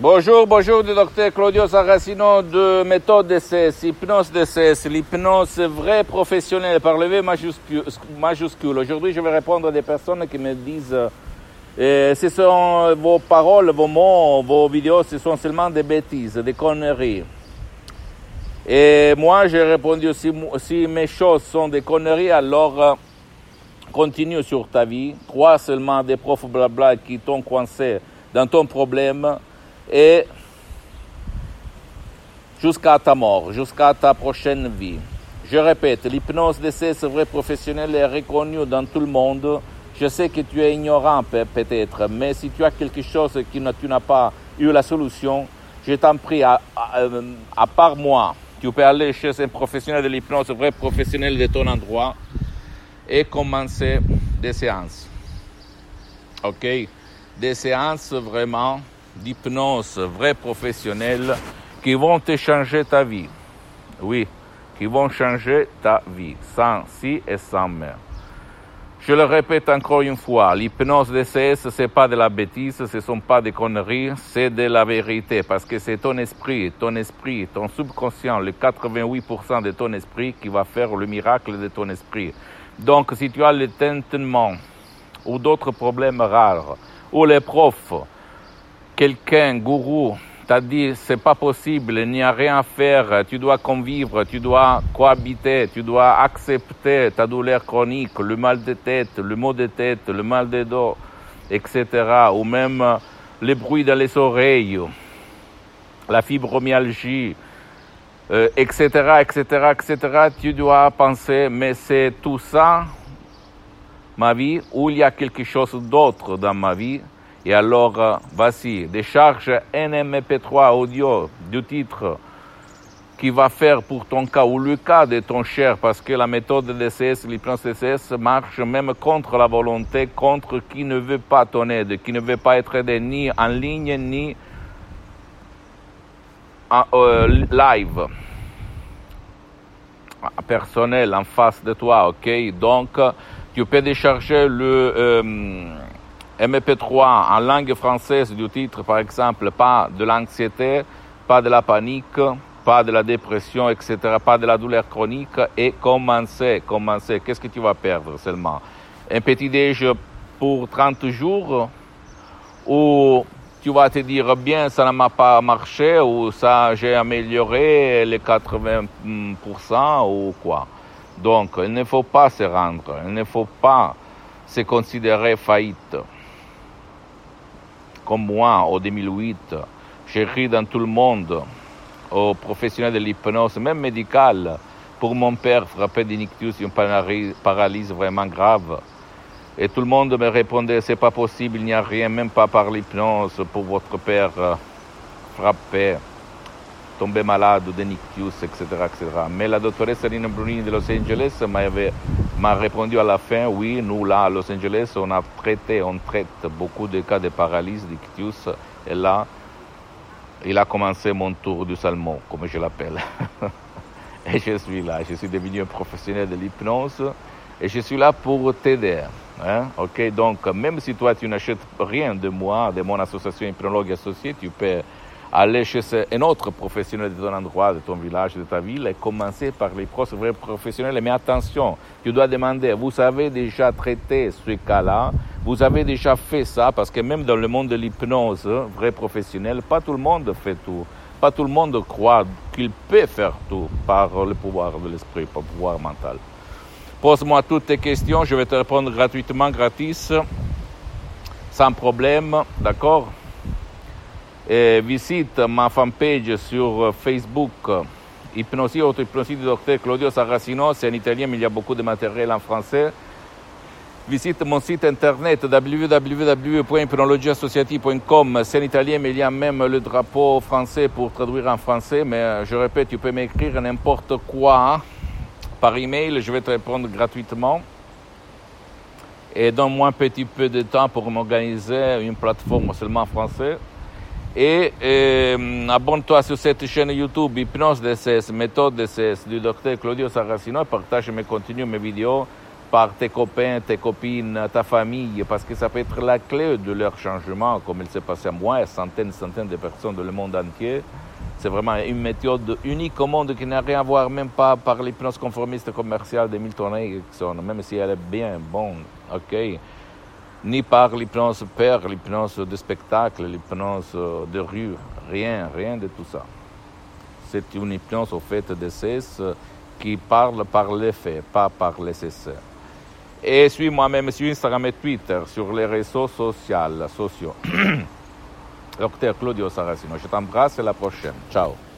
Bonjour, bonjour du docteur Claudio Saracino de méthode DCS, hypnose DCS, l'hypnose vraie professionnelle par le V majuscule. Aujourd'hui, je vais répondre à des personnes qui me disent ce sont vos paroles, vos mots, vos vidéos, ce sont seulement des bêtises, des conneries. Et moi, j'ai répondu, si mes choses sont des conneries, alors continue sur ta vie. Crois seulement des profs blabla qui t'ont coincé dans ton problème et jusqu'à ta mort, jusqu'à ta prochaine vie. Je répète, l'hypnose DCS vrai professionnel est reconnue dans tout le monde. Je sais que tu es ignorant peut-être, mais si tu as quelque chose que tu n'as pas eu la solution, je t'en prie, à part moi, tu peux aller chez un professionnel de l'hypnose vrai professionnel de ton endroit et commencer des séances. Ok? Des séances vraiment d'hypnose vrai professionnelle qui vont te changer ta vie. Oui, qui vont changer ta vie, sans si et sans mais. Je le répète encore une fois, l'hypnose DCS, c'est pas de la bêtise, ce sont pas des conneries, c'est de la vérité, parce que c'est ton esprit, ton subconscient, le 88% de ton esprit qui va faire le miracle de ton esprit. Donc, si tu as le tintement ou d'autres problèmes rares, ou les profs, quelqu'un, gourou, t'a dit c'est pas possible, il n'y a rien à faire, tu dois convivre, tu dois cohabiter, tu dois accepter ta douleur chronique, le mal de tête, le maux de tête, le mal de dos, etc. Ou même les bruits dans les oreilles, la fibromyalgie, etc., etc., etc. Tu dois penser, mais c'est tout ça, ma vie, ou il y a quelque chose d'autre dans ma vie. Et alors, voici, décharge un MP3 audio du titre qui va faire pour ton cas ou le cas de ton cher, parce que la méthode DCS, l'hypnose DCS, marche même contre la volonté, contre qui ne veut pas ton aide, qui ne veut pas être aidé ni en ligne, ni en live, personnel, en face de toi, ok? Donc, tu peux décharger le MP3 en langue française du titre, par exemple, pas de l'anxiété, pas de la panique, pas de la dépression, etc., pas de la douleur chronique, et commencer. Qu'est-ce que tu vas perdre seulement? Un petit déj pour 30 jours, ou tu vas te dire, bien, ça ne m'a pas marché, ou ça, j'ai amélioré les 80%, ou quoi. Donc, il ne faut pas se rendre, il ne faut pas se considérer faillite. Comme moi, en 2008, j'écris dans tout le monde, aux professionnels de l'hypnose, même médicale, pour mon père frappé d'ictus, une paralysie vraiment grave. Et tout le monde me répondait, c'est pas possible, il n'y a rien, même pas par l'hypnose, pour votre père frappé, tombé malade d'ictus, etc., etc. Mais la doctoresse Rina Brunini de Los Angeles m'a répondu à la fin, oui, nous là, à Los Angeles, on traite beaucoup de cas de paralysie, d'ictus, et là, il a commencé mon tour du salmon, comme je l'appelle. Et je suis là, je suis devenu un professionnel de l'hypnose, et je suis là pour t'aider. Hein? Ok, donc, même si toi, tu n'achètes rien de moi, de mon association Hypnologue Associée, tu peux aller chez un autre professionnel de ton endroit, de ton village, de ta ville, et commencer par les vrais professionnels. Mais attention, tu dois demander, vous avez déjà traité ce cas-là, vous avez déjà fait ça, parce que même dans le monde de l'hypnose, vrai professionnel, pas tout le monde fait tout. Pas tout le monde croit qu'il peut faire tout par le pouvoir de l'esprit, par le pouvoir mental. Pose-moi toutes tes questions, je vais te répondre gratuitement, gratis, sans problème, d'accord? Et visite ma fanpage sur Facebook, Hypnosie, auto-hypnosie du docteur Claudio Saracino, c'est en italien, mais il y a beaucoup de matériel en français. Visite mon site internet www.hypnologieassociative.com, c'est en italien, mais il y a même le drapeau français pour traduire en français, mais je répète, tu peux m'écrire n'importe quoi par email, je vais te répondre gratuitement. Et donne-moi un petit peu de temps pour m'organiser une plateforme seulement en français. Et abonne-toi sur cette chaîne YouTube Hypnose DCS, méthode DCS du docteur Claudio Saracino, et partage mes contenus, mes vidéos par tes copains, tes copines, ta famille, parce que ça peut être la clé de leur changement, comme il s'est passé à moi et centaines de personnes dans le monde entier. C'est vraiment une méthode unique au monde qui n'a rien à voir même pas par l'hypnose conformiste commerciale de Milton Erickson, même si elle est bien bonne, ok, ni par l'hypnose père, l'hypnose de spectacle, l'hypnose de rue, rien de tout ça. C'est une hypnose au fait de cesse qui parle par les faits, pas par les essais. Et suis-moi même sur Instagram et Twitter, sur les réseaux sociaux. Docteur Claudio Saracino, je t'embrasse et à la prochaine. Ciao.